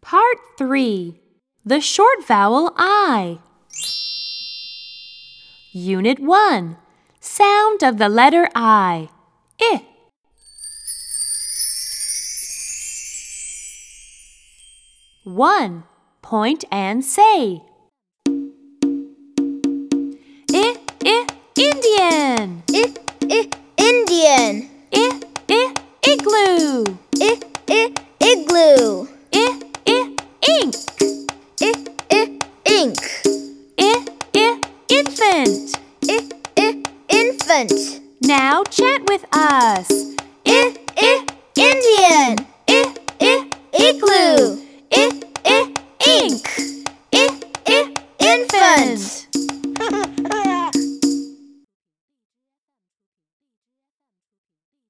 Part 3. The short vowel I. Unit 1. Sound of the letter I. 1. Point and say.